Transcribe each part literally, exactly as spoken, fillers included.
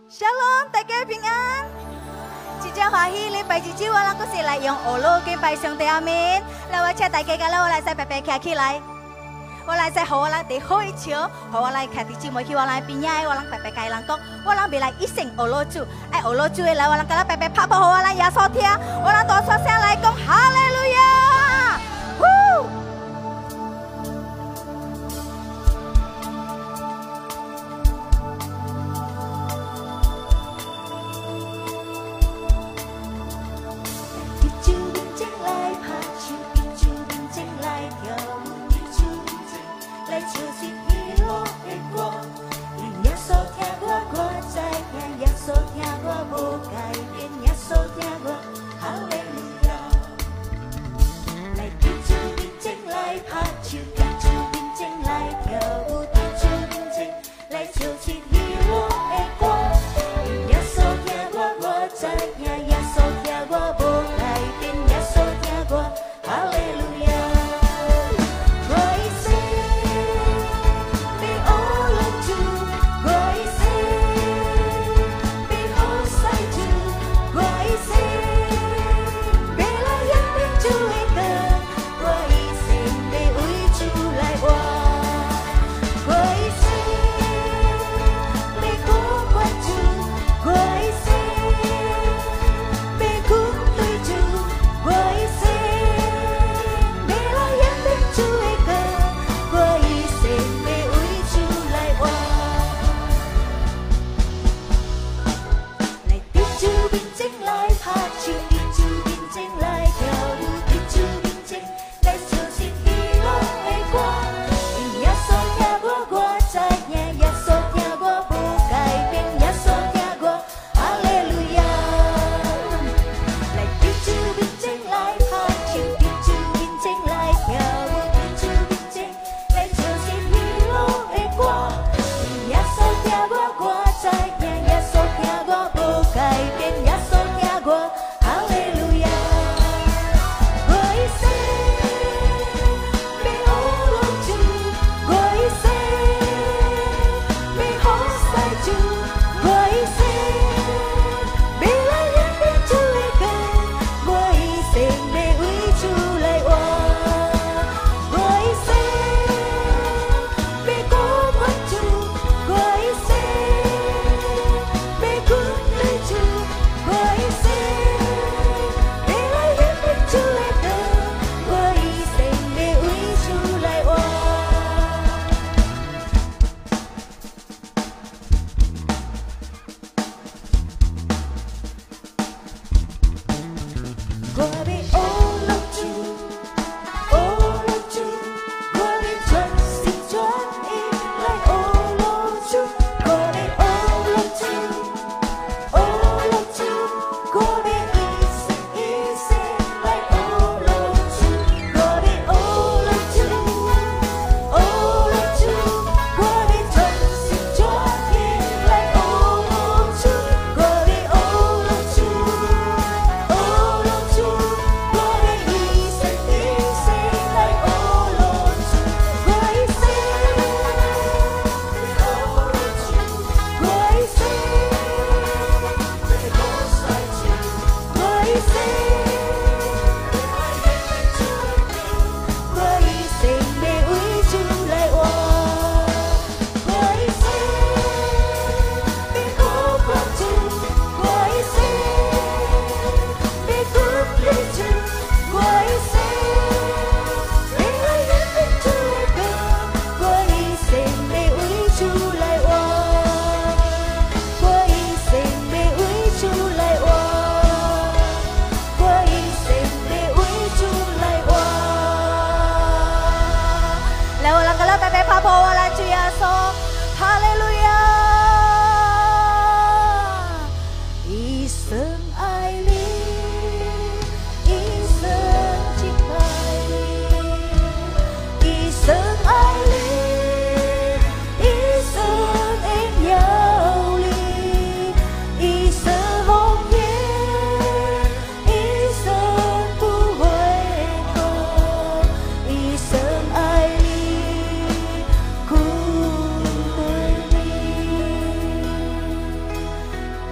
Shalom，大家平安。真正欢喜礼拜日子，我人阁是来用学路敬拜上帝阿面。来，我请大家甲我来使白白徛起来。我来使，互我人伫好一笑，互我来徛伫姊妹去我人边仔，我人白白甲伊人讲，我人未来一生学路主，爱学路主的来，我人甲咱白白拍拍，互我人耶稣听，我人大声声来讲哈利路亚。呼！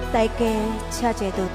大家车者嘟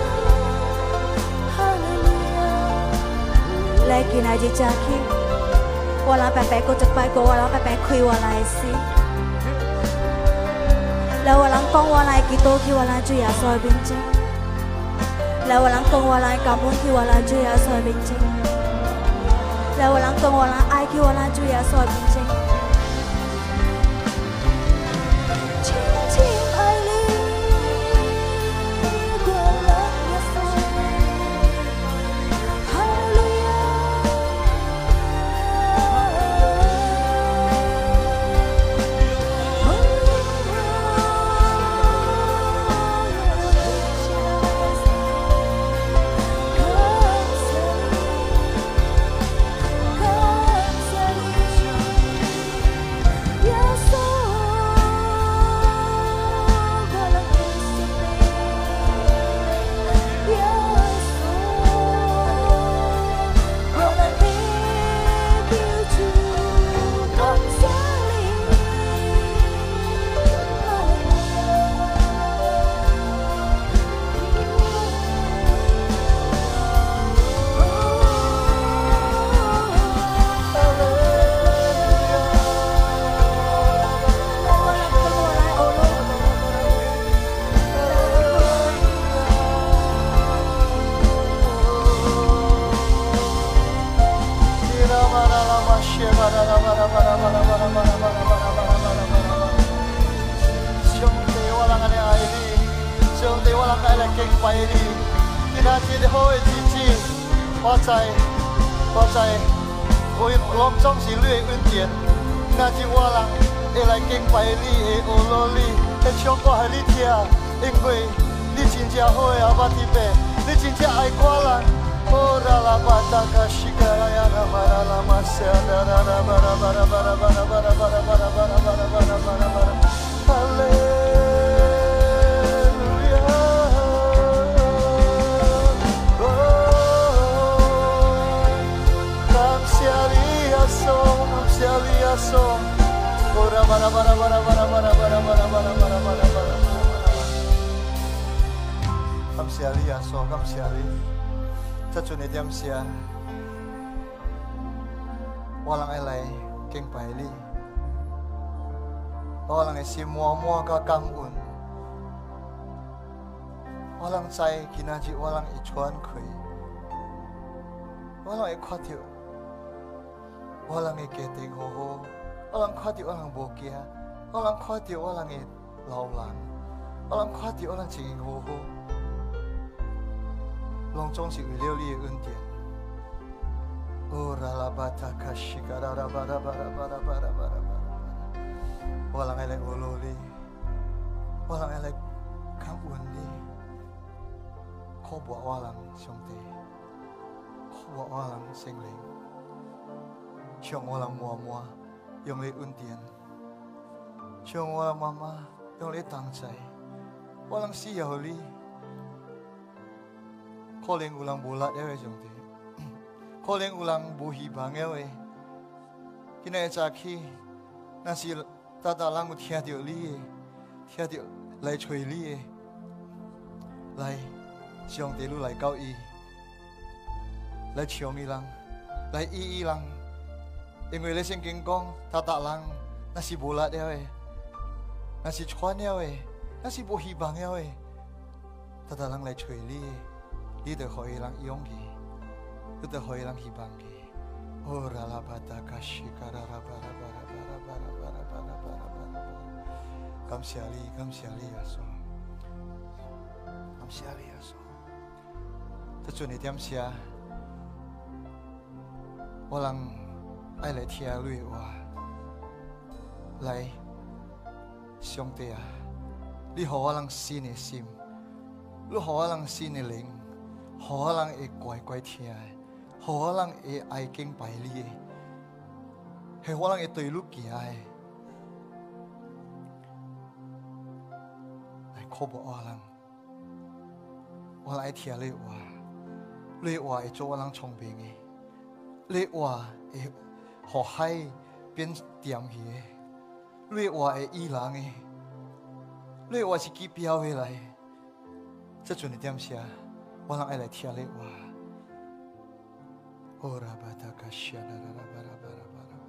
嘟。Kinaji Jaki 我人白白过一摆过，我人白白开我来心。来我人讲我来基督去我来主耶稣的面前。来我人讲我来感恩去我来主耶稣的面前。来我人讲我来爱去我来主耶稣的面前。轻轻爱你，过了耶稣。哈利路亚。 我人爱来敬拜你，我人的心满满甲感恩。我人知今仔日我人会喘气，我人会看到我人的家庭好好，我人看到我人无惊，我人看到我人的老人，我人看到我人情形好好，拢总是为了你的恩典。哦，拉拉巴塔卡西卡拉拉巴拉巴拉巴拉巴拉巴拉巴拉，我人爱来阿罗你，我人爱来感恩你，靠我我人上帝，靠我我人圣灵，向我人妈妈用你恩典，向我人妈妈用你同在，我人需要你，可能有人无力了上帝。可能有人无希望了的，今日早起，若是大大人有听到你的，听到来找你的，来上帝路来到伊，来抢伊人，来医伊人，因为咧圣经讲，大大人若是无力了的，若是喘了的，若是无希望了的，大大人来找你的，你就互伊人勇气。你就可以让希望嘅，哦，拉拉巴达卡西卡拉拉巴拉巴拉巴拉巴拉巴拉巴拉巴拉巴拉，感谢你，感谢你耶稣，感谢你耶稣。这阵你点写？我人爱来听你的话，来，上帝啊，你互我人新的心，你互我人新的灵，互我人会乖乖听的。互我人会爱敬拜你的，系我人会对你行的，来靠我我人，我人爱听你话，你话会做我人聪明的，你话会互海变甜去的，你话会医人的，你话是记标回来，这阵你点写？我人爱来听你话。哦，拉巴达卡西拉拉拉巴拉巴拉巴拉。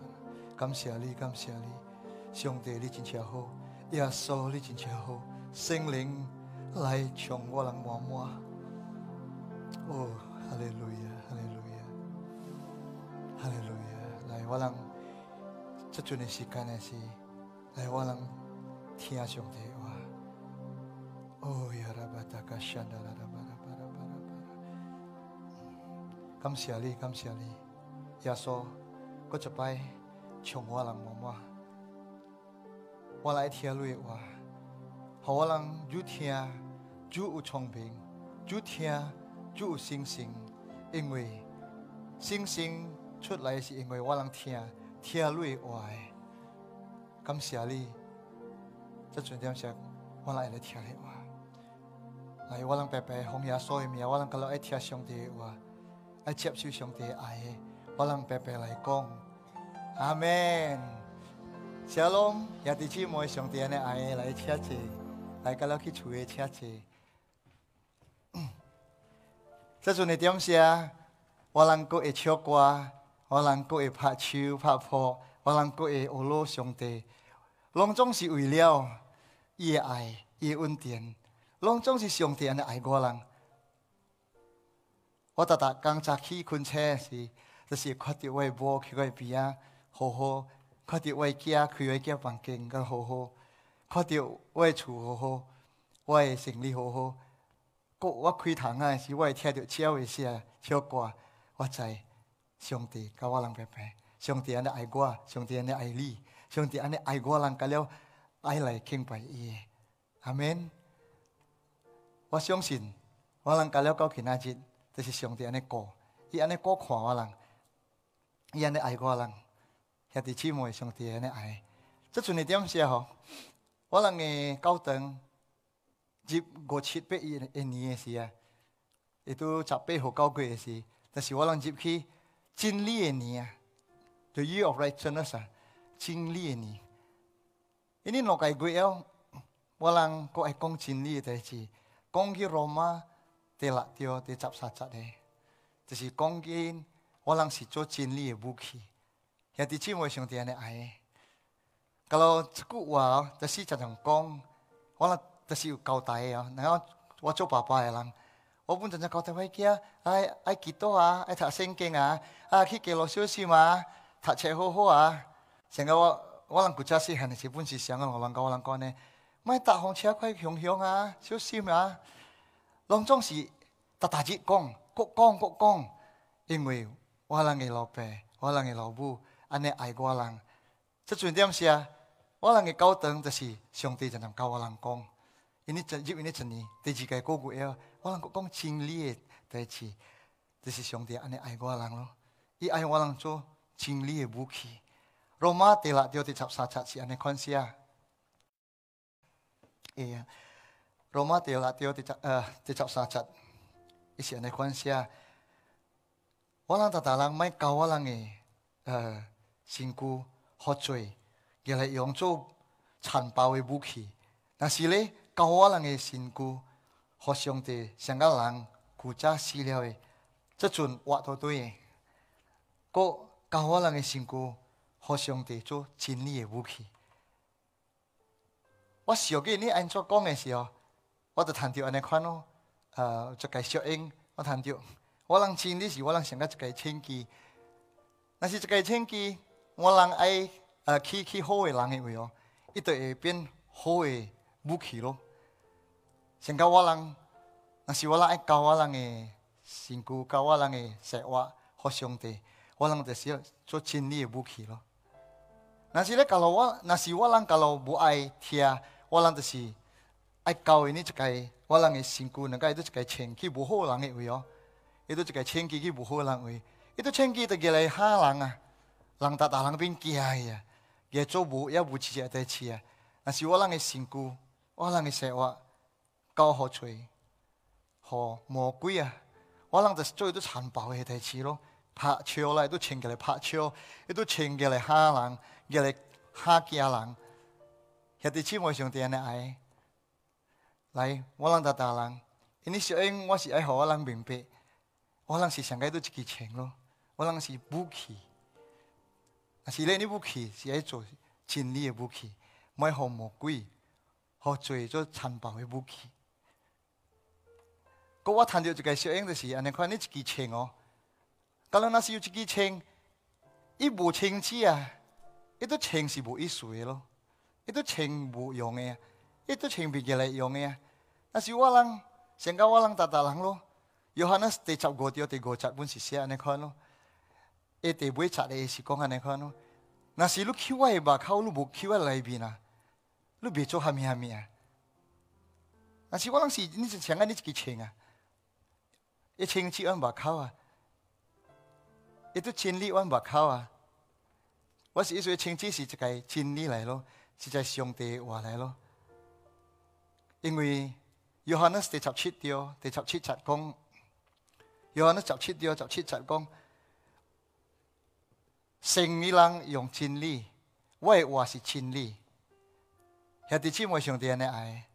感谢你，感谢你，上帝你真正好，耶稣你真正好，圣灵来从我人满满。哦，哈利路亚，哈利路亚，哈利路亚！来，我人这阵的时间的是，来我人听上帝话。哦呀，拉巴达卡山达拉拉巴拉巴拉巴拉巴拉。感谢你，感谢你，耶稣，我一摆从我人满满。我来听你的话，好我人越听越有聪明，越听越有信心，因为信心出来是因为我人听听你的话。感谢你，这阵点时我来来听你的话。来，我人白白奉耶稣的名，我人今日爱听上帝的话，爱接受上帝的爱，我人白白来讲，阿門。Shalom， 也弟姊妹，上帝的愛來車謝，來今日去厝嘅車謝。這陣嘅點寫，我人佫會唱歌，我人佫會拍手拍破，我人佫會學羅上帝，攏總是為了伊嘅愛，伊嘅恩典，攏總是上帝安尼愛我人。我逐逐工早起困車時，就是看到我嘅某去我嘅邊啊，好好。看到我的囝開我的房間，咁好好；看到我的厝好好，我的生理好好。我我開窗啊時，我會聽到鳥的聲、唱歌，我知上帝甲我人白白，上帝安尼愛我，上帝安尼愛你，上帝安尼愛我人，甲了愛來敬拜伊。阿們。我相信我人甲了到今仔日，就是上帝安尼顧，伊安尼顧看我人，伊安尼愛我人。兄弟姊妹，上帝安尼愛，這陣嘅點寫吼，我人嘅教堂入五七八一一年嘅時啊，亦都十八號九月嘅時，但是我人入去真理嘅年啊 ，The Year of Righteousness 啊，真理嘅年。因為六個月後，我人佫愛講真理嘅代志，講去羅馬第六條第十三節嘅，就是講緊我人是做真理嘅武器。兄弟姊妹，上帝安尼愛。kalau 這句話，就是常常講，我哋就是有交代嘅哦。然後我做爸爸嘅人，我本常常交代我囝，愛愛祈禱啊，愛讀聖經啊，啊去記錄小心啊，讀冊好好啊。成個我我人古早細漢嘅時，本是想個我人教我人講呢，咪搭紅車快向向啊，小心啊。攏總是逐逐日講，各講各講，因為我人嘅老爸，我人嘅老母。安尼愛我人，這陣點是啊？我人嘅教堂就是上帝就能教我人講，因為入因為一年第二個個月啊，我人講真理嘅代志，就是上帝安尼愛我人咯。伊愛我人做真理嘅武器。羅馬第六條第十三節是安尼款寫啊。誒，羅馬第六條第十呃第十三節，伊是安尼款寫。我人逐逐人咪教我人嘅呃。身軀喝醉，亦係用做殘暴嘅武器。但是咧，教我人嘅身軀，互上帝上個人古早死了嘅，這陣活到對嘅。個教我人嘅身軀，互上帝做真理嘅武器。我小記你安怎講嘅時候，我就談到安尼款咯。呃，一個小英，我談到我人真理是我人上個一個清機，但是一個清機。我人愛呃去去好嘅人嘅位哦，伊就會變好嘅武器咯。成個我人，若是我人愛教我人嘅身軀，教我人嘅生活，互上帝，我人就是要做真理嘅武器咯。若是咧教路我，若是我人教路無愛聽，我人就是愛教伊呢一個我人嘅身軀，能夠伊都一個清去無好人嘅位哦，伊都一個清去去無好人位，伊都清去就叫嚟嚇人啊。人逐逐人邊驚啊，嘢做無也無一個代志啊。但是我人嘅身軀，我人嘅生活，教好吹，好魔鬼啊！我人就是做啲殘暴嘅代志咯，拍笑啦，都請佢嚟拍笑，亦都請佢嚟嚇人，佢嚟嚇驚人。兄弟姊妹上帝安尼愛，來我人逐逐人，因為小英我是愛互我人明白，我人是上個都一支槍咯，我人是武器。 是你你武器是爱做真理的武器，唔系互魔鬼、互罪做残暴的武器。嗰我谈到一个小影，就是安尼看你一支枪哦，假如那是有一支枪，伊无枪支啊，伊都枪是无意思的咯，伊都枪无用的，伊都枪袂来用的。但是我人，成个我人大大人咯。约翰那第十五条第五节本是写安尼看咯，伊第尾节的是讲安尼看咯。那是你扣我的目口，你无扣我里边啊，你别做虾米虾米啊。那是我人是你是像安尼一支枪啊，一枪击阮目口啊，伊都真理阮目口啊。我是意思枪击是一个真理来咯，是一个上帝的话来咯。因为约翰那第十七条第十七节讲。约翰十七條十七節講，聖理人用真理，我的話是真理。兄弟姊妹，上帝安尼愛，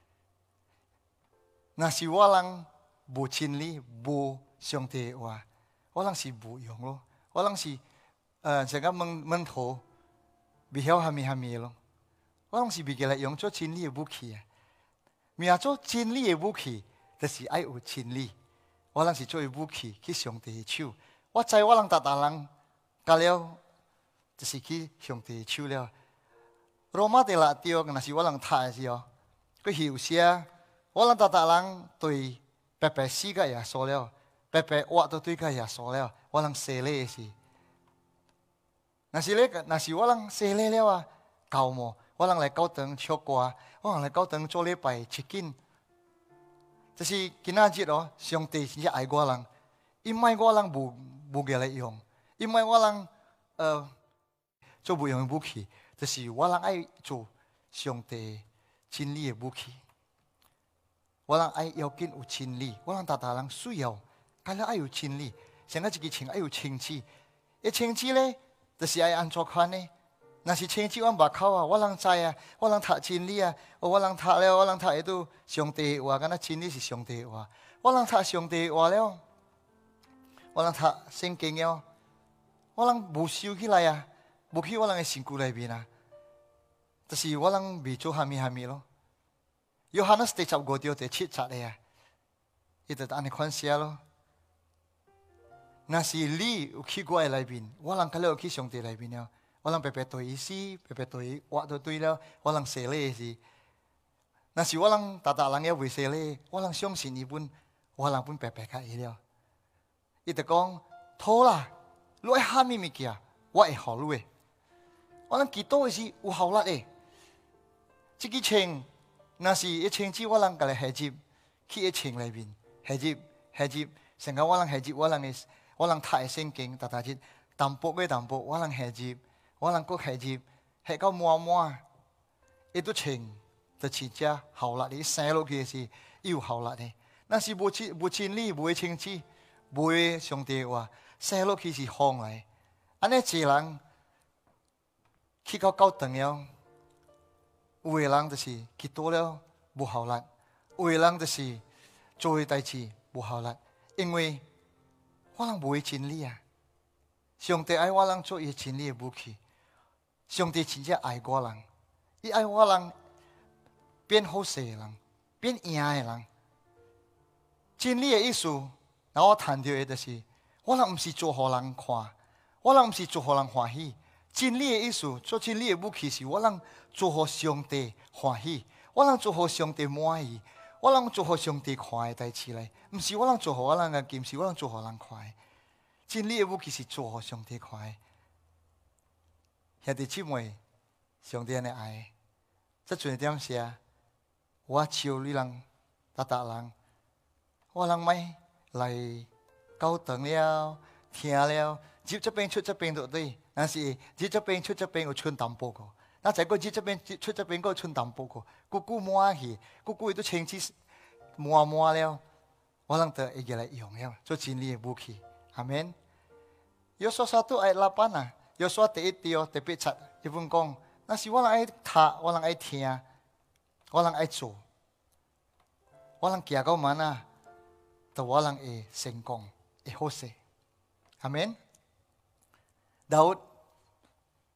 若是我人無真理，無上帝的話，我人是無用咯。我人是呃成個門門徒，未曉蝦米蝦米咯。我人是未記來用做真理的武器啊。命做真理的武器，就是愛有真理。我人是做武器去上帝的手，我知我人大大人教了，就是去上帝的手了。羅馬第六條，若是我人讀的時候，佢後寫我人大大人對白白死個耶穌了，白白活都對個耶穌了，我人洗禮的是。若是咧，若是我人洗禮了啊，教麼？我人來教堂唱歌，我人來教堂做禮拜切緊。就是今仔日哦，上帝真正愛我人，伊唔愛我人無無嘅來用，伊唔愛我人呃做無用嘅武器，就是我人愛做上帝真理嘅武器。我人愛要緊有真理，我人大大人需要，梗係愛有真理，像個一個情愛有清子，一清子咧，就是愛安怎款呢？若是清子阮目口啊，我人知啊，我人讀真理啊，我人讀了，我人讀會到上帝話，敢若真理是上帝話。我人讀上帝話了，我人讀聖經了，我人無收起來啊，無去我人嘅身軀裏面啊，就是我人未做蝦米蝦米咯。約翰那第十五條第七節嘅啊，伊就安尼款寫咯。若是你有去我嘅裏面，我人佢咧有去上帝裏面了。我人白白對伊死，白白對伊活都對了，我人洗禮是。若是我人大大人也未洗禮，我人相信伊本，我人本白白甲伊了。伊就講，好啦，你愛蝦米物件，我會互你誒。我人祈禱是有效力誒。即個槍，若是一槍子，我人甲來下接，去一槍裏面下接下接，成個我人下接，我人嘅我人讀嘅聖經，大大節淡薄嘅淡薄，我人下接。我人國下接，下到滿滿，伊都穿，就似只效力，你生落去是有效力的。那是無真無真理，無清子，無上帝話，生落去是風嚟。安尼一人去到教堂了，有個人就是去多了無效力，有個人就是做嘅代志無效力，因為我人無真理啊。上帝愛我人做伊真理嘅武器。上帝真正愛我人，伊愛我人變好勢嘅人，變贏嘅人。真理嘅意思，然後我談到嘅就是，我人唔是做互人看，我人唔是做互人歡喜。真理嘅意思，做真理嘅武器是我人做互上帝歡喜，我人做互上帝滿意，我人做互上帝看嘅代志嚟，唔是我人做互我人嘅劍，是我人做互人看嘅。真理嘅武器是做互上帝看嘅。兄弟姊妹，上帝安尼愛，這陣點寫，我笑你人，大大人，我人咪來教堂了，聽了，入這邊出這邊都對，但是入這邊出這邊有春淡薄個，那再個入這邊出這邊個春淡薄個，姑姑滿去，姑姑伊都清子滿滿了，我人就會記來用了，做真理嘅武器，阿們。有所satu ayat lapan啊。有說第一條第八節，伊本講，那是我人愛讀，我人愛聽，我人愛做，我人行到慢啊，就我人會成功，會好勢。阿們。Daud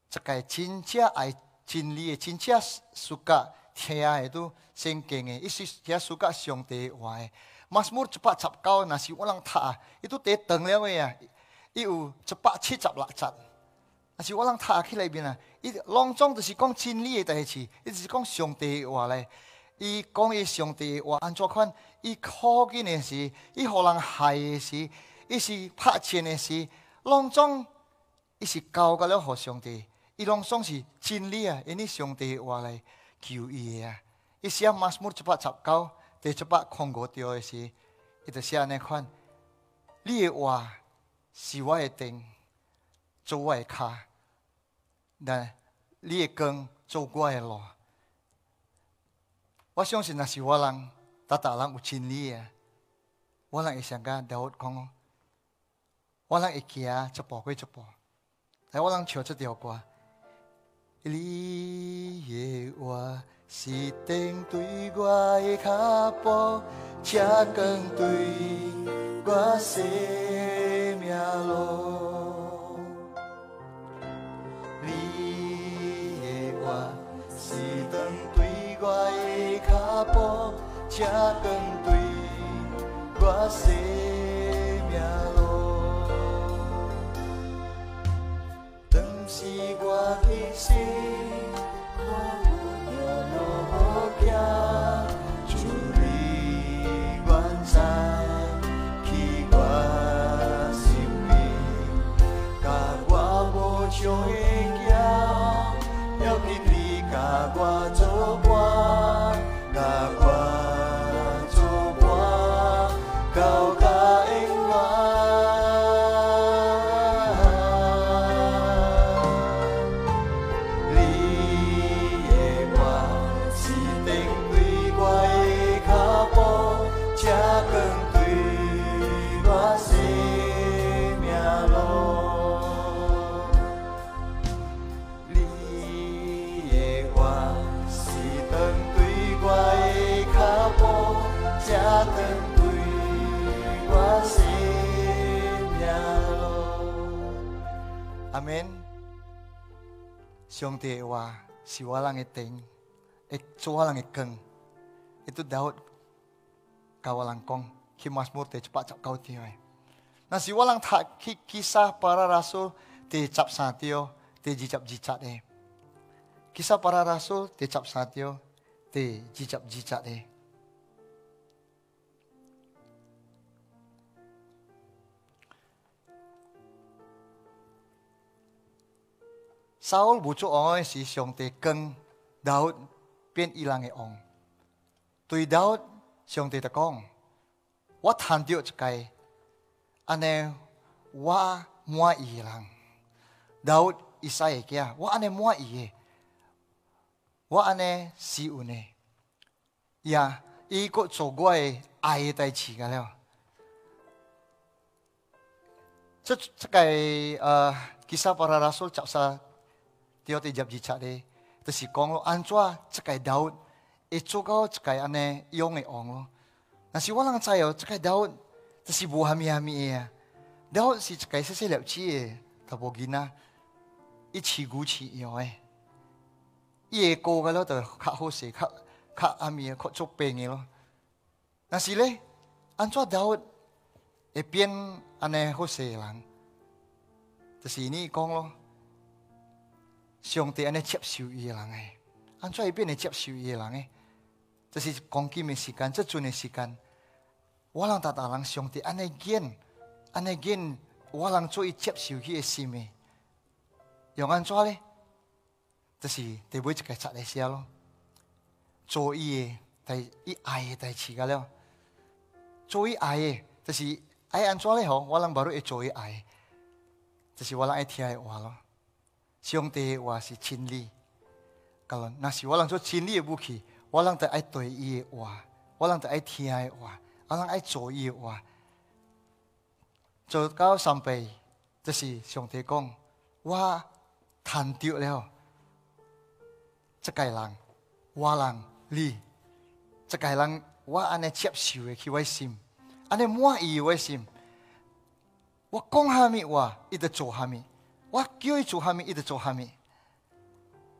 这个真正爱真理的、真正suka听的都圣经的，伊是也 suka 上帝话的。马斯姆一百十九，若是我人读，伊都第长了个啊，伊有一百七十六节。若是我人读起来面啊，伊拢总就是讲真理的代志，伊就是讲上帝的话咧。伊讲伊上帝的话安怎款？伊靠近的时，伊互人害的时，伊是拍钱的时，拢总伊是交给了互上帝。伊拢总是真理啊，因为上帝的话来救伊的啊。伊写马斯姆一百十九，第一百空五条的时，伊就写安尼款：你的话是我的灯，做我的脚；但你的光做我的路。我相信，若是我人，大大人有真理啊，我人会想甲大卫讲哦，我人会行一步过一步。来，我人唱这条歌。你的话是灯对我的脚步，车光对我生命路。你的话是灯对我的脚步，车光对我生命路。当时我的心，看我着路行，主你原知去我生命，甲我无常的行，要紧你甲我作伴，甲我作伴，到甲永远。阿們，上帝話是我人嘅燈，會做我人嘅光。Itu Daud 甲我人講，去馬斯姆第一百十九條嘅。那是我人讀去Kisah Para Rasul第十三條，第二十二節嘅。Kisah Para Rasul第十三條，第二十二節嘅。Saul 無做王嘅時，上帝更Daud變伊人嘅王。對Daud，上帝就講：我談到一個，安尼我滿意人。Daud 以西嘅囝，我安尼滿意嘅，我安尼喜歡嘅。呀，伊個做我嘅愛嘅代志㗎了。這這個呃，Kisah Para Rasul 十三條第十二節咧，就是講咯，安怎這個Daud會做到這個安尼勇嘅王咯。但是我人知哦，這個Daud就是無蝦米蝦米嘅啊。Daud是一個細細粒子嘅大部囡仔，伊飼牛飼羊嘅，伊個個個咯就較好勢，較較阿咪較做病嘅咯。但是咧，安怎Daud會變安尼好勢嘅人，就是你講咯。上帝安尼接受伊嘅人誒，安怎會變嚟接受伊嘅人誒？這是講緊嘅時間，這陣嘅時間，我人大大人上帝安尼見，安尼見，我人做伊接受佢嘅心誒。用安怎咧？就是第尾一個節嚟寫咯，做伊嘅代伊愛嘅代志個了，做伊愛嘅，就是愛安怎咧？嗬，我人無會做伊愛，就是我人愛聽嘅話咯。上帝嘅話是真理，咁若是我人做真理嘅武器，我人就愛對伊嘅話，我人就愛聽伊嘅話，我人愛做伊嘅話。做到三倍，就是上帝講，我談到了，這個人，我人你，這個人我安尼接受嘅去我心，安尼滿意我心，我講蝦米話，伊就做蝦米。我叫伊做蝦米，伊就做蝦米。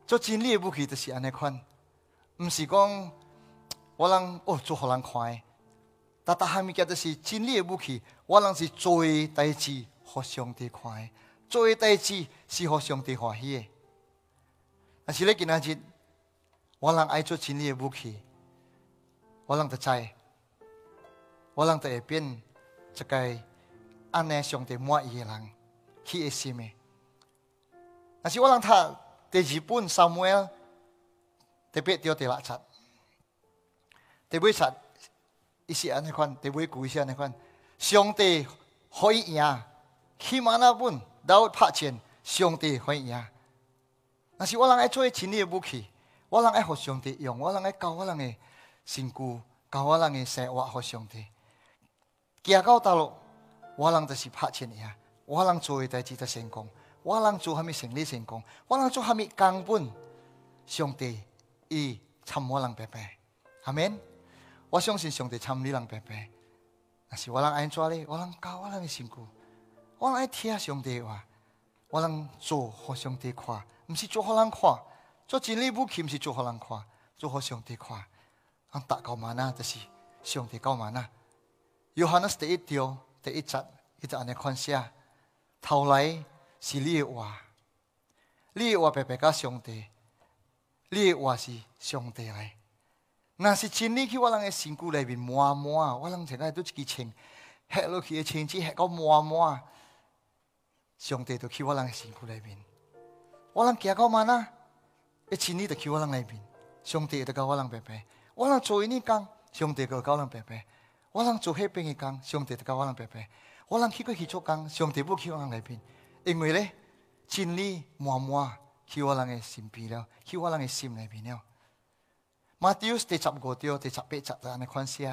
做真理的武器就是安尼款，唔是讲我人哦做互人看的，但但下物件就是真理的武器，我人是做的代志，互上帝看的，做的代志是互上帝欢喜的。但是咧今仔日，我人爱做真理的武器，我人就知，我人就会变一个安尼上帝满意的人，去的心的。但是我人读第二本撒母耳第八章第六节，第尾节伊是安尼款，第尾句是安尼款，上帝可以赢，起码那本都拍战，上帝可以赢。但是我人爱做真理的武器，我人爱互上帝用，我人爱教我人的身躯，教我人的生活互上帝。行到道路，我人就是拍战赢，我人做的代志就成功。我人做虾米成立成功，我人做虾米根本，上帝伊参我人白白，阿免。我相信上帝参你人白白。但是我人安怎呢？我人教我人的身躯，我人爱听上帝话，我人做互上帝看，唔是做互人看。做真理武器唔是做互人看，做互上帝看。俺达到嘛那就是上帝教嘛那。约翰第一章第一节，伊就安尼款写，头来。是你的话，你的话白白甲上帝，你的话是上帝来。若是真理去我人的身躯内面满满，我人现在都一支枪，吓落去的枪支吓到满满，上帝就去我人的身躯内面。我人行到嘛呐，一真理就去我人内面，上帝就教我人白白。我人做呢工，上帝就教我人白白。我人做迄边的工，上帝就教我人白白。我人去过去做工，上帝不去我人内面。因为咧，真理满满去我人的身边了，去我人的心里面了。马太第十五章第十八节就安尼款写。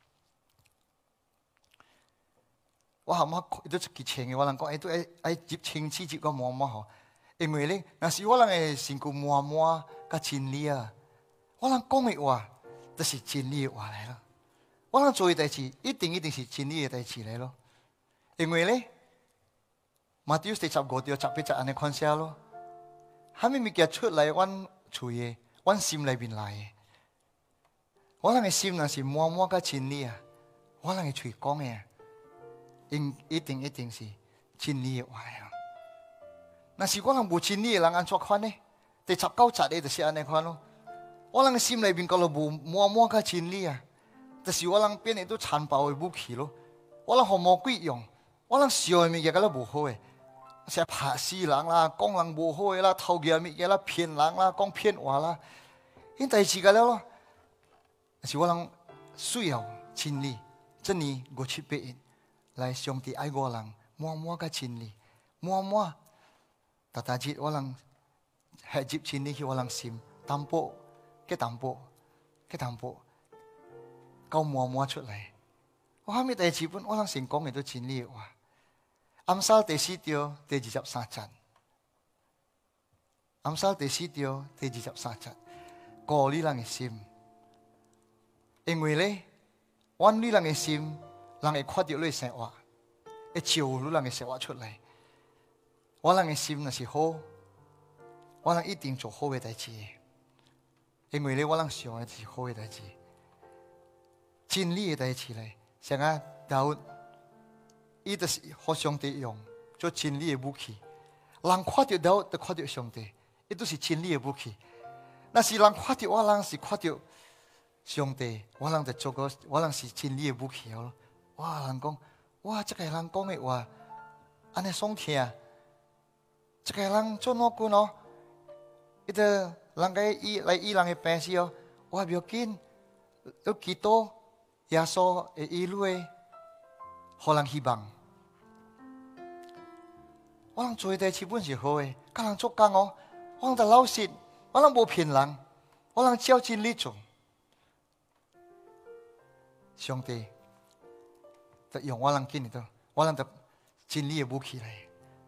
我含下伊都一支枪的，我人讲伊都爱爱接枪支接个满满吼。因为咧，若是我人的身躯满满甲真理啊，我人讲的话就是真理的话来了。我人做的代志一定一定是真理的代志来咯。因为咧。马太第十五章十八节安尼款写咯，虾米物件出来阮嘴的，阮心里面来的。我人的心若是满满甲真理啊，我人的嘴讲的啊，应一定一定是真理的话啊。若是我人无真理的人安怎款呢？第十九节的就是安尼款咯。我人的心里面讲了无满满甲真理啊，就是我人变的都残暴的武器咯。我人互魔鬼用，我人想的物件甲都无好的。是拍死人啦，讲人无好的啦，偷嘢物件啦，骗人啦，讲骗话啦，因代志个了咯。是我人需要真理，真理五七八印来上帝爱我人，满满个真理，满满。但但是我人系接真理去我人心，淡薄，几淡薄，几淡薄，够满满出来。我虾米代志本我人成功嘅都真理话。暗杀第四章第二十三节，暗杀第四章第二十三节，過你人嘅心，因為咧，阮你人嘅心，人會看到你生活，會照你人嘅生活出嚟。我人嘅心若是好，我人一定做好嘅代志，因為咧，我人想嘅是好嘅代志，真理嘅代志咧，像啊大衛。伊就是互上帝用做真理的武器，人看到了就看到上帝，伊都是真理的武器。若是人看到我人是看到上帝，我人就做个我人是真理的武器咯。哇，人讲哇，这个人讲的话，安尼爽听，这个人做哪句哦？伊个人个伊来伊人的病时哦，我不要紧，有基督耶稣的伊路的，互人希望。我人做的代志本是好的，甲人做工哦，我人就老实，我人无骗人，我人照真理做。上帝就用我人今日都，我人就真理的武器来。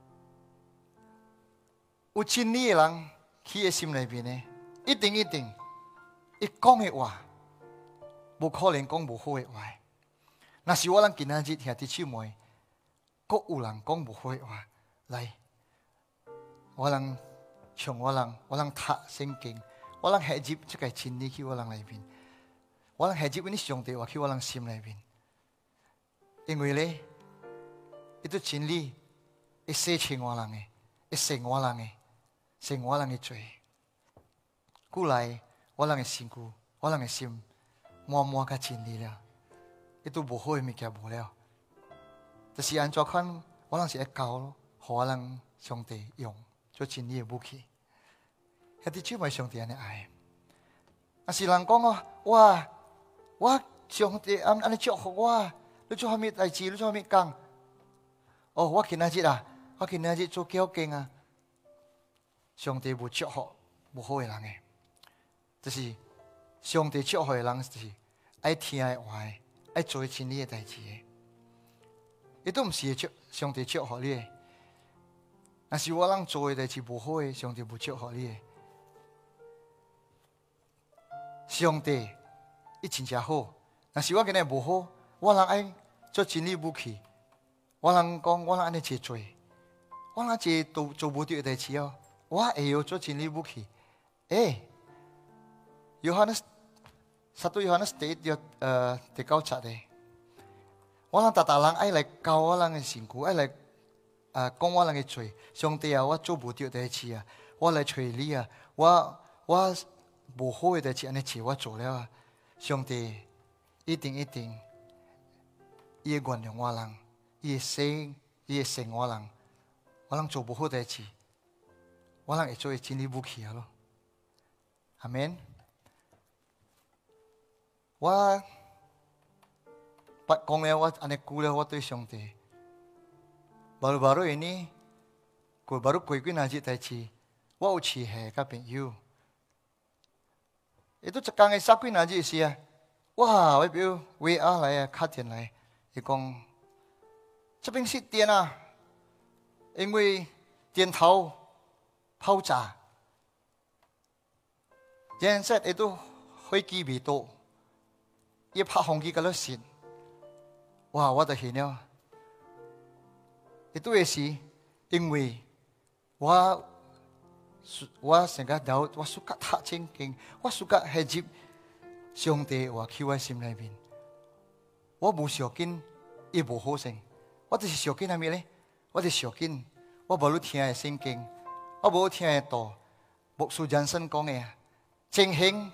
有真理的人，佢嘅心裏邊呢，一定一定，伊講嘅話，無可能講無好嘅話。若是我人今仔日兄弟姊妹，閣有人講無好嘅話。来，我人像我人，我人读聖經，我人學習即個真理去我人裏邊，我人學習呢上帝話去我人心裏邊，因為咧，呢啲真理會洗清我人嘅，會成我人嘅，成我人嘅罪。古來我人嘅身軀，我人嘅心滿滿嘅真理了，呢都無好嘅物件無了。就是按照看，我人是會教咯，互我人上帝用做真理嘅武器。一啲只咪上帝安尼愛。啊是人講哦，哇，我上帝安安尼祝福我，你做啥物代志？你做啥物工？哦，我今仔日啊，我今仔日做幾好勁啊！上帝無祝福無好嘅人嘅，就是上帝祝福嘅人就是愛聽愛話嘅，愛做真理嘅代志嘅。伊都毋是祝上帝祝福你嘅，若是我人做嘅代志無好嘅，上帝無祝福你嘅。上帝伊真正好，若是我今日無好，我人愛做真理武器。我人講我人安尼做做，我人做做做無對嘅代志哦，我會曉做真理武器。誒，約翰斯，撒都約翰斯第一約誒第九節嘅。我人大大人愛來教我人嘅身軀，愛來啊講我人嘅罪。上帝啊，我做無對代志啊，我來找你啊，我我無好嘅代志安尼做，我做了啊。上帝一定一定，伊會原諒我人，伊會生，伊會成我人。我人做無好代志，我人會做真理武器啊咯。阿們。我。講了我安尼估了我對上帝，baru-baru ini，佢 baru 過幾日日代志，我有辭下甲朋友，伊都一工嘅十幾日日時啊，哇！我表威亞來啊，打電來，伊講，這邊是電啊，因為電頭爆炸，現在伊都飛機未到，伊拍飛機嗰度先。哇！我就現了，亦都係是因為我我成日有我暑假讀聖經，我暑假係接上帝話喺我心裏邊，我冇小見，亦冇好性，我就是小見係咩咧？我就是小見，我冇聽嘅聖經，我冇聽嘅道，牧師人生講嘅正行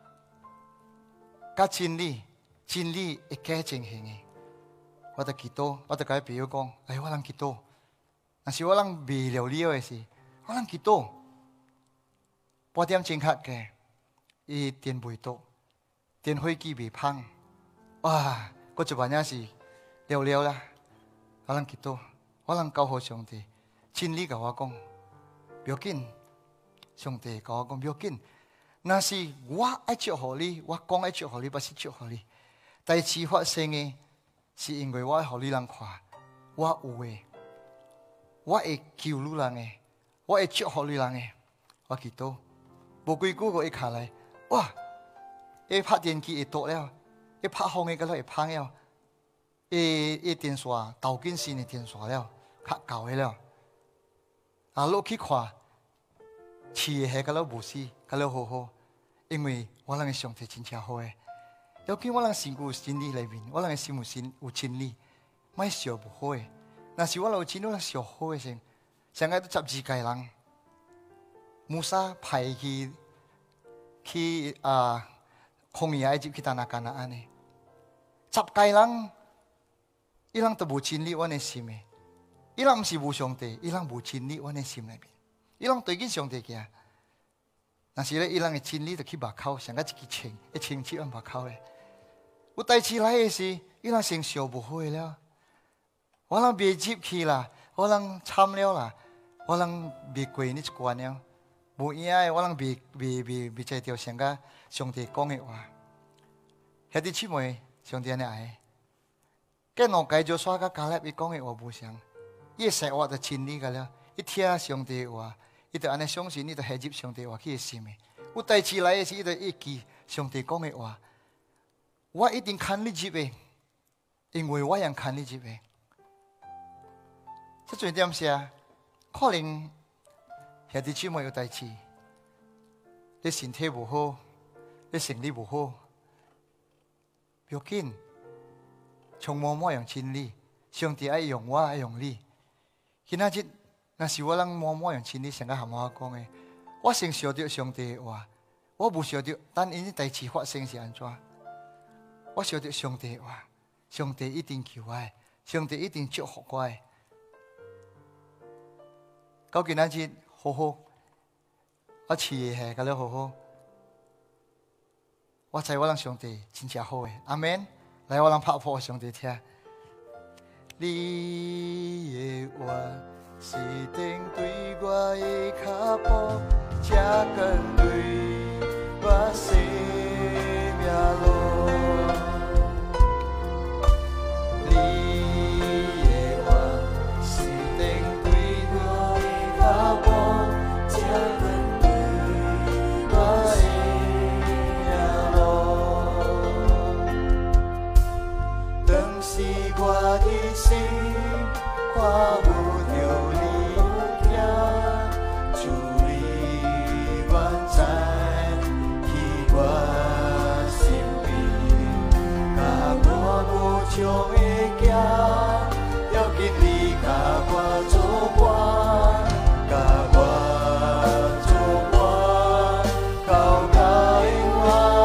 加真理，真理會加正行嘅。我就祈禱，我就甲伊朋友講：哎，我人祈禱，若是我人未了了嘅事，我人祈禱。八點正確嘅，伊電未到，電飛機未碰，哇！嗰一晚也是了了啦。我人祈禱，我人交互上帝，真理甲我講，不要緊。上帝甲我講不要緊，若是我愛祝福你，我講愛祝福你，不是祝福你。代志發生嘅。是因為我愛互你人看，我有嘅，我會救你人嘅，我會祝福你人嘅。我祈禱，無幾久個一下來，哇！一拍電機會倒了，一拍風嘅嗰度會碰了，一一電線導緊線嘅電線了，較舊嘅了。啊，落去看，飼嘅係嗰度無事，嗰度好好，因為我人嘅上帝真正好嘅。要見我人身軀有真理裏面，我人嘅心有真有真理，莫笑無好嘅。若是我有真理，我笑好嘅先。上個都十二屆人，穆薩派去去啊，曠野埃及去打那干那安尼。十屆人，伊人都無真理，我嘅心嘅。伊人唔是無上帝，伊人無真理，我嘅心裏面。伊人對緊上帝嘅。若是咧，伊人嘅真理就去目口，上個一支槍，一槍刺喺目口嘅。有代志來嘅時，伊人成笑無好了。我人未入去啦，我人慘了啦，我人未過呢一關了。無影嘅，我人未未未未知道上個上帝講嘅話。兄弟姊妹，上帝安尼愛。跟兩屆就刷個加勒，伊講嘅話無相，伊實話就真理個了。伊聽上帝嘅話，伊就安尼相信，伊就係入上帝話去嘅心嘅。有代志來嘅時，伊就一記上帝講嘅話。我一定看你入嘅，因為我人看你入嘅。即最點是啊？可能兄弟姊妹有代志，你身體唔好，你生理唔好，不要緊，從默默用真理，上帝愛用我，愛用你。今仔日，若是我人默默用真理，上個含我講嘅，我先曉得上帝嘅話，我唔曉得，但因啲代志發生是安怎？我曉得上帝嘅話，上帝一定救我，上帝一定祝福我。到今仔日，好好，我飼嘅係咁樣好好，我知我人上帝真正好嘅，阿們。來，我人拍破上帝聽。你的話是釘對我的腳步，這跟對我生命路。你的話是釘對我的腳步，這跟對我生命路。當時我的心看有着你行，主你願知去我身邊，甲我無將的行，要緊你甲我作伴，甲我作伴，到永遠。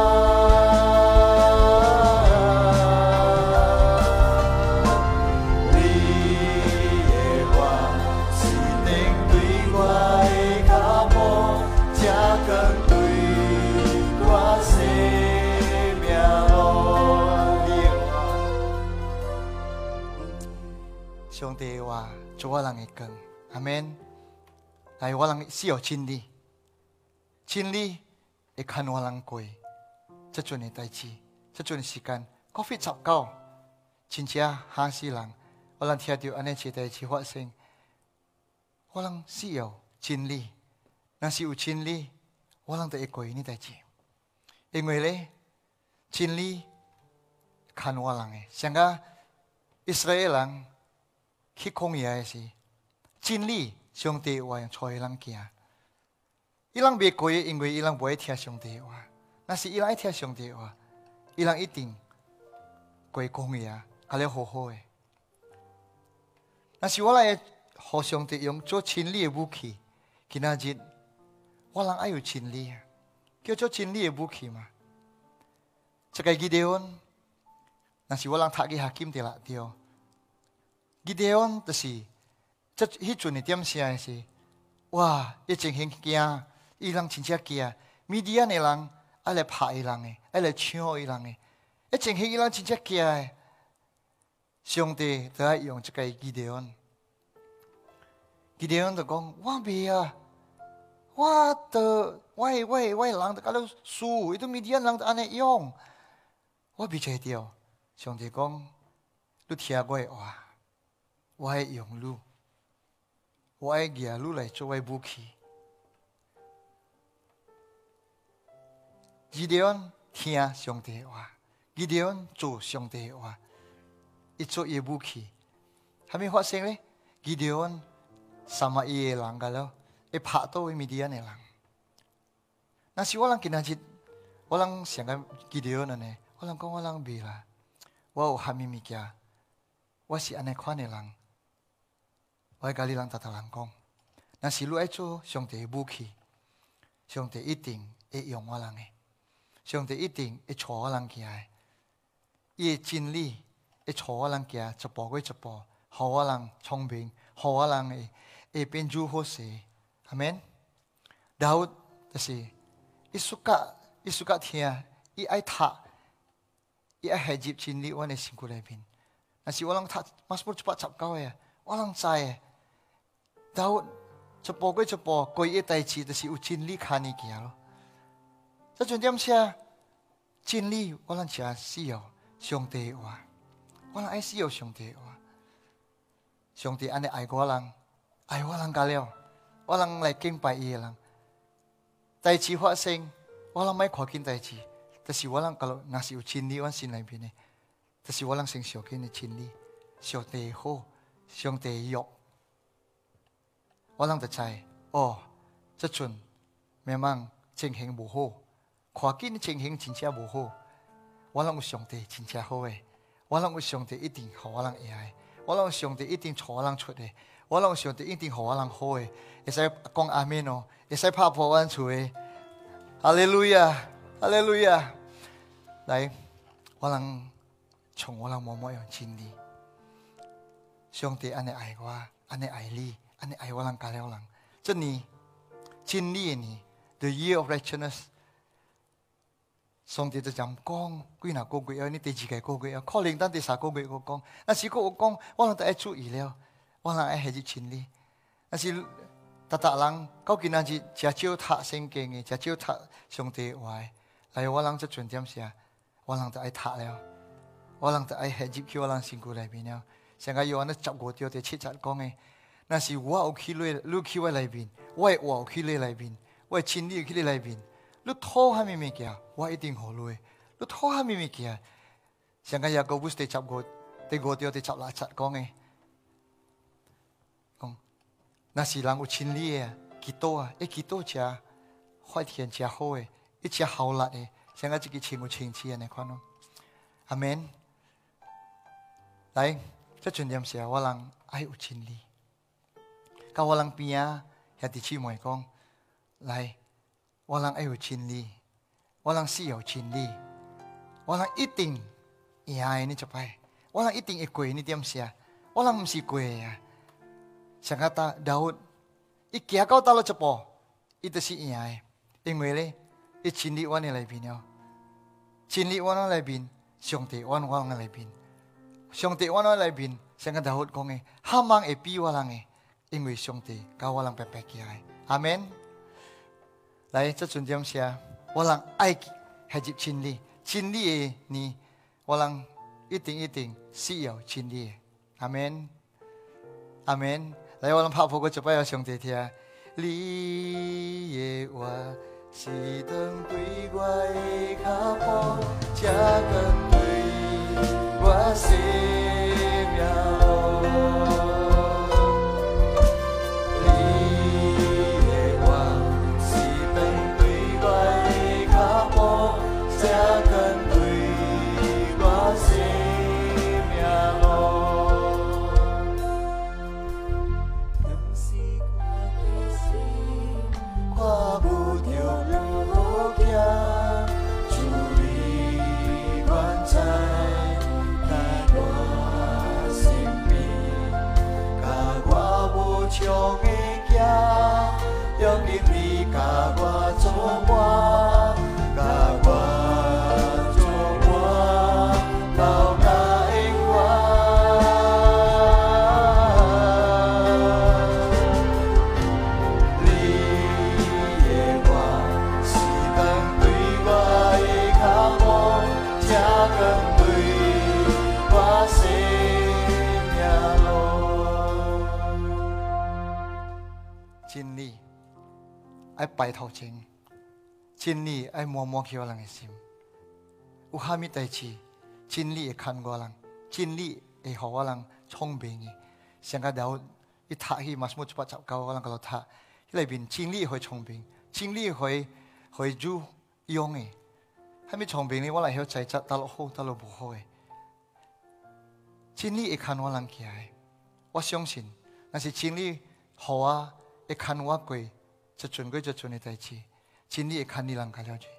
上帝話做我人嘅光，阿們。來，我人需要真理，真理會看我人過，這陣嘅代志，這陣嘅時間，過去十九，真正嚇死人。我人聽到安尼一代志發生，我人需要真理。若是有真理，我人就會過呢代志。因為咧，真理看我人嘅，像個以色列人。去曠野嘅時，真理上帝話用錯嘅人行，伊人未過，因為伊人唔會聽上帝話。但是伊人愛聽上帝話，伊人一定過曠野，係咧好好嘅。但是我來互上帝用做真理嘅武器，今仔日我人愛有真理，叫做真理嘅武器嘛。這個基甸恩，但是我人讀嘅哈金地啦掉。基甸恩就是，即迄陣嘅點聲是，哇！伊真很驚，伊人真正驚，米甸嘅人愛來拍伊人嘅，愛來搶伊人嘅，伊真很伊人真正驚嘅。上帝就愛用這個基甸恩，基甸恩就講：我袂啊，我的我的我的我的人就搞到輸，伊都米甸人就安尼用，我袂做到。上帝講：你聽我嘅話。我愛用你，我愛拿你來作為武器。基甸恩聽上帝話，基甸恩做上帝話，伊做伊武器。係咪發生咧？基甸恩三十一個人噶咯，會拍到米甸嘅人。那是我人今仔日，我人想個基甸恩呢？我人講我人未啦，我有蝦米物件，我是安尼款嘅人。我喺家裡人逐逐人講，若是你愛做上帝嘅武器，上帝一定會用我人嘅，上帝一定會帶我人行嘅，伊嘅真理會帶我人行一步過一步，互我人聰明，互我人會會變做好勢，阿們。然後就是伊暑假，伊暑假聽，伊愛讀，伊愛係入真理，我哋身軀裏邊。若是我人讀，馬上一百十九嘅，我人知嘅。然後一步過一步，過一代志就是有真理看你行咯。這陣點寫真理，我人真需要上帝話，我人愛需要上帝話。上帝安尼愛我人，愛我人甲了，我人來敬拜伊個人。代志發生，我人莫看緊代志，就是我人甲咯，若是有真理，我心內邊嘅，就是我人先小緊嘅真理，上帝好，上帝約。我人就知，哦， 这阵 memang 情形无好，看见情形真正无好。我諗有上帝真正好誒，我諗有上帝一定互我人會愛，我諗有上帝一定帶我人出誒，我諗有上帝一定互我人好誒。會使講阿們哦，會使拍破阮厝誒。哈利路亞，哈利路亞。來，我人從我人默默用真理。上帝安尼愛我，安尼愛你，安尼愛我人家了人。這年真理嘅年 ，The Year of Righteousness。上帝就咁講，幾嗱個月啊？你第幾個個月啊？可能等第三個月我講，但是我講，我人都愛注意了，我人愛係啲真理。但是大大人到今仔日真少讀聖經嘅，真少讀上帝話嘅。嚟我人這重點是啊，我人就愛讀了，我人就愛係入去我人身軀裏邊了。成個約翰十五條第七節講嘅，那是我有去你，你去我裏邊，我係我去你裏邊，我係真理去你裏邊。你拖下咩物件，我一定好你。你拖下咩物件，上個雅各書第十五、第五條第十六節講嘅，講那是人有真理嘅，基督啊，一基督者發現者好嘅，一隻好力嘅，上個這個情有情切嘅，你看咯，阿們。來，這重點是我人愛有真理，教我人邊啊，兄弟姊妹講，來。我人愛有真理，我人是有真理，我人一定贏你一擺，我人一定會過你點寫，我人唔是過啊。上個大大伊行到到了一步，伊就是贏嘅，因為咧，伊真理往你裏邊了，真理往我裏邊，上帝往我人裏邊，上帝往我裏邊，上個大講嘅，哈芒會比我人嘅，因為上帝教我人白白嘅愛，阿們。來，這重點是啊，我人愛係入真理，真理嘅呢，我人一定一定是有真理嘅，阿們，阿們。來，我人拍破個就不要上帝聽，你嘅話是燈對我的腳步，這燈對我生命路。真理愛擺頭前，真理愛摸摸起我人嘅心。有蝦米代志，真理會看我人，真理會讓我人聰明嘅。上個了一讀起，馬上就把教教我人嗰度讀，裏邊真理會聰明，真理會會主用嘅。蝦米聰明呢？我嚟曉仔質，得落好，得落唔好嘅。真理會看我人起來，我相信，那是真理好啊。會看我過，這陣過這陣嘅代志，真理會看你人家了解。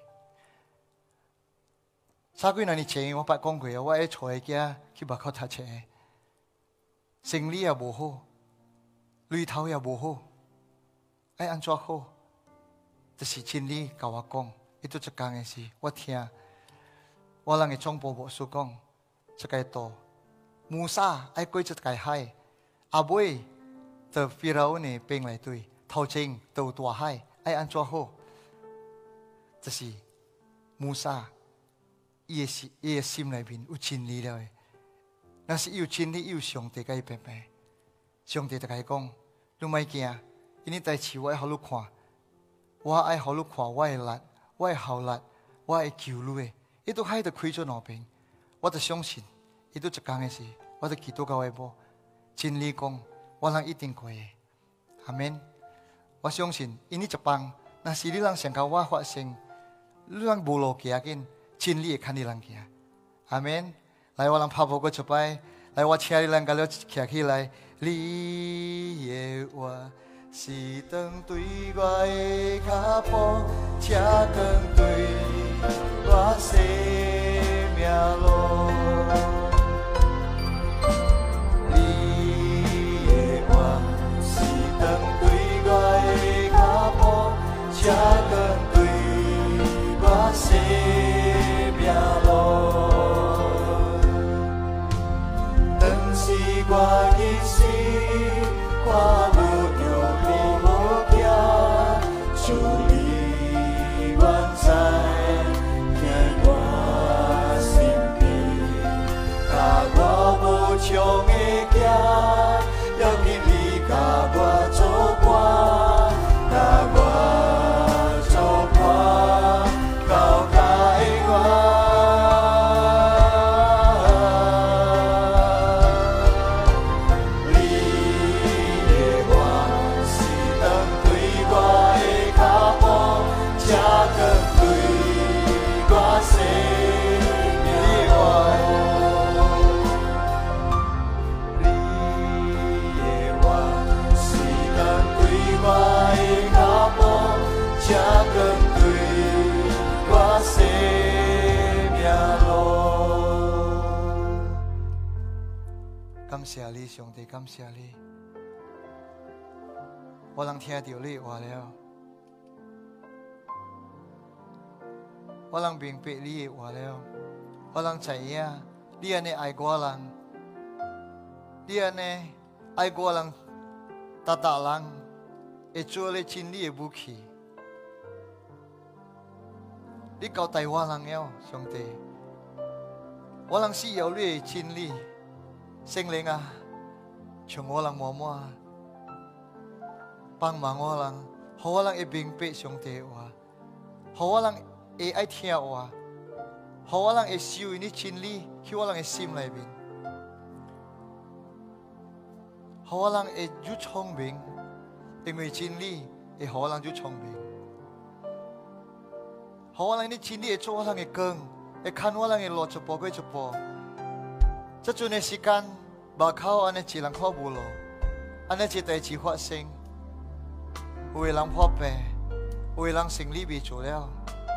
三幾年前我捌講過，我喺坐喺家去外口讀冊，生理也無好，裡頭也無好，愛安怎好？就是真理教我講，伊都一講嘅事，我聽。我人嘅總部牧師講，這個道，摩沙愛過這個海，阿妹。就菲拉呢變來對，頭前到大海，愛安怎好？這是摩沙，伊嘅心，伊嘅心裏邊有真理了嘅。那是有真理，有上帝嘅白白。上帝就甲伊講：你莫驚，因為代志我愛互你看，我愛互你看我嘅力，我嘅效力，我會救你嘅。伊都海就開咗兩邊，我就相信，伊都一講嘅事，我就祈禱到下晡，真理講。我人一定過嘅，阿們。 我相信因你一帮，那是你人想甲我发生，你人无路行紧，真理会看你人行。阿门。来，我人拍步过一摆，来，我请你人甲了徛起来。你的话是灯对我的脚步，车光对我生命路。你的话是灯对我的脚步，车光对我生命路。当时我一时看不着你无行，主你原在在我身边，甲我无常的行，要紧你甲我作伴，甲我作伴，到界我。感谢你，上帝，感谢你。我能听到你的话了，我能明白你的话了，我能知影你安尼爱我人，你安尼爱我人，大大人会做你真理的武器。你交代我人了，上帝，我人需要你的真理。圣灵啊，从我人摸摸，帮忙我人，好我人会明白上帝话，好我人会爱听话，好我人会受你真理去我人的心里面，好我人会越聪明，因为真理会好我人越聪明，好我人的真理会做我人的光，会看我人的路一步过一步。这阵的时间，目口安尼一人看无路，安尼一代志发生，有的人破病，有的人生理未做了。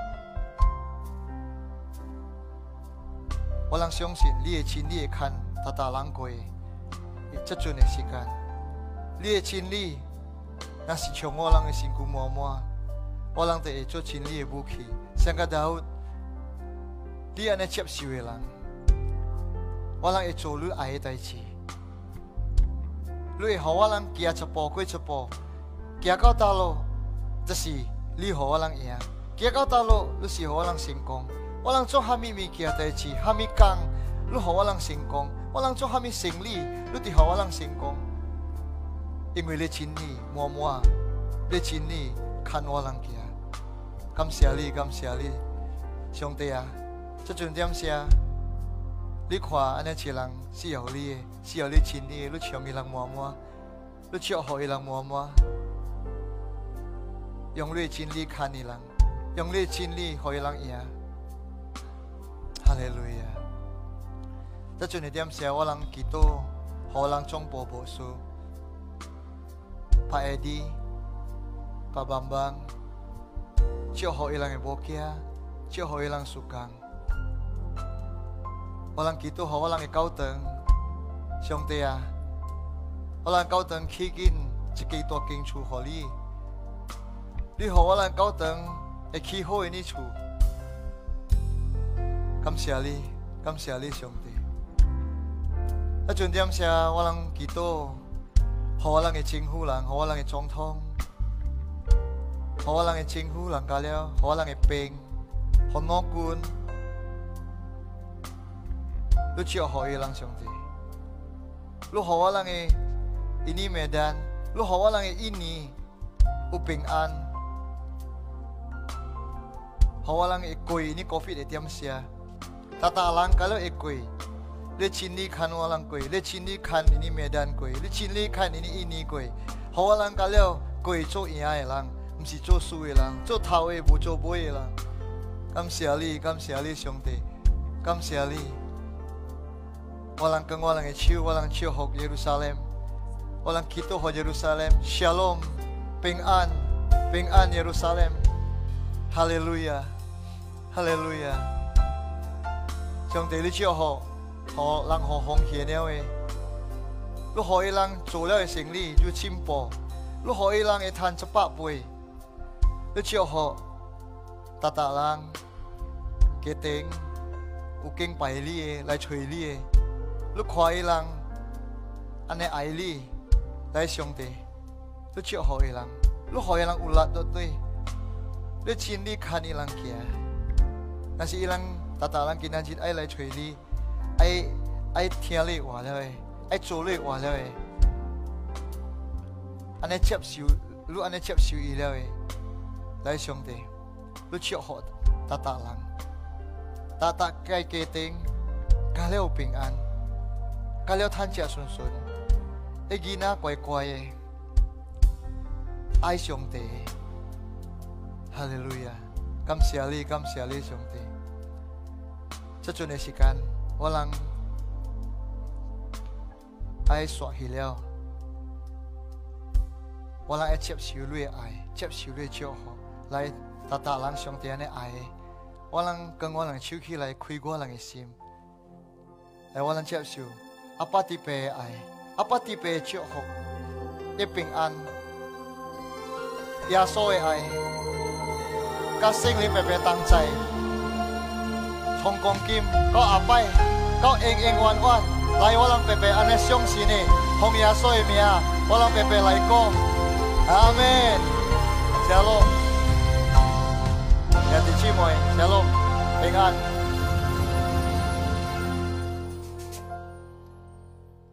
我人相信你的真理会看大大人过这阵的时间，你的真理若是从我人的身躯满满，我人就会做真理的武器。像个大卫，你安尼接受的人。我人会做你爱的代志，你会让我人行一步过一步，行到道路，就是你让我人赢；行到道路，你是让我人成功。我人做虾米物件代志，虾米工，你让我人成功；我人做虾米生意，你就让我人成功。因为你真理满满，你真理看我人行。感谢你，感谢你，上帝啊！这阵点写。你看，安尼一人需要你的，需要你真理的，你唱伊人满满，你祝福伊人满满，用你的真理看伊人，用你的真理互伊人赢。哈利路亚！这阵的点写，我人祈祷，互人总部无事，拍下滴，拍棒棒，祝福伊人的无惊，祝福伊人事工。我人祈祷，互我人的教堂，上帝啊，我人教堂起紧一间大间厝，互你，你互我人教堂会起好的你厝，感谢你，感谢你，上帝。啊，重点是我人祈祷，互我人的政府人，互我人的总统，互我人的政府人加了，互我人的兵，互老军。你祝福伊人上帝，你互我人的印尼麦丹，你互我人的印尼有平安，互我人会过你COVID的点写，大大人甲你会过，你真理看我人过，你真理看印尼麦丹过，你真理看印尼印尼过，互我人甲了过去做赢的人，不是做输的人，做头的无做尾的人。感谢你，感谢你，上帝，感谢你。我能跟我能的手，我能祝福耶路撒冷，我能祈祷给耶路撒冷 ，Shalom， 平安，平安耶路撒冷，哈利路亚，哈利路亚。上帝，你祝福，互人互奉献了的，你互伊人做了的生意就进步，你互伊人会赚一百倍，你祝福，大大人家庭有敬拜你的来找你的。你看伊人安尼爱你，来上帝，你祝福伊人，你互伊人有力对对，你真理看伊人行。但是伊人大大人今仔日爱来找你，爱爱听你话了的，爱做你话了的，安尼接受，你安尼接受伊了的，来上帝，你祝福大大人，大大家家庭家了有平安。家了趁食顺顺，你囡仔乖乖的，爱上帝，哈利路亚！感谢你，感谢你，上帝。这阵的时间，我人爱刷去了，我人爱接受你的爱，接受你的祝福，来大大人上帝安尼爱的，我人跟我人手起来开我人的心，来我人接受。阿爸特别的爱，阿爸特别的祝福，的平安，耶稣的爱，甲圣灵白白同在，从光今到下摆，到永永远远，来我人白白安尼相信的，奉耶稣的名，我人白白来讲，阿门。谢喽，兄弟姊妹，谢喽，平安。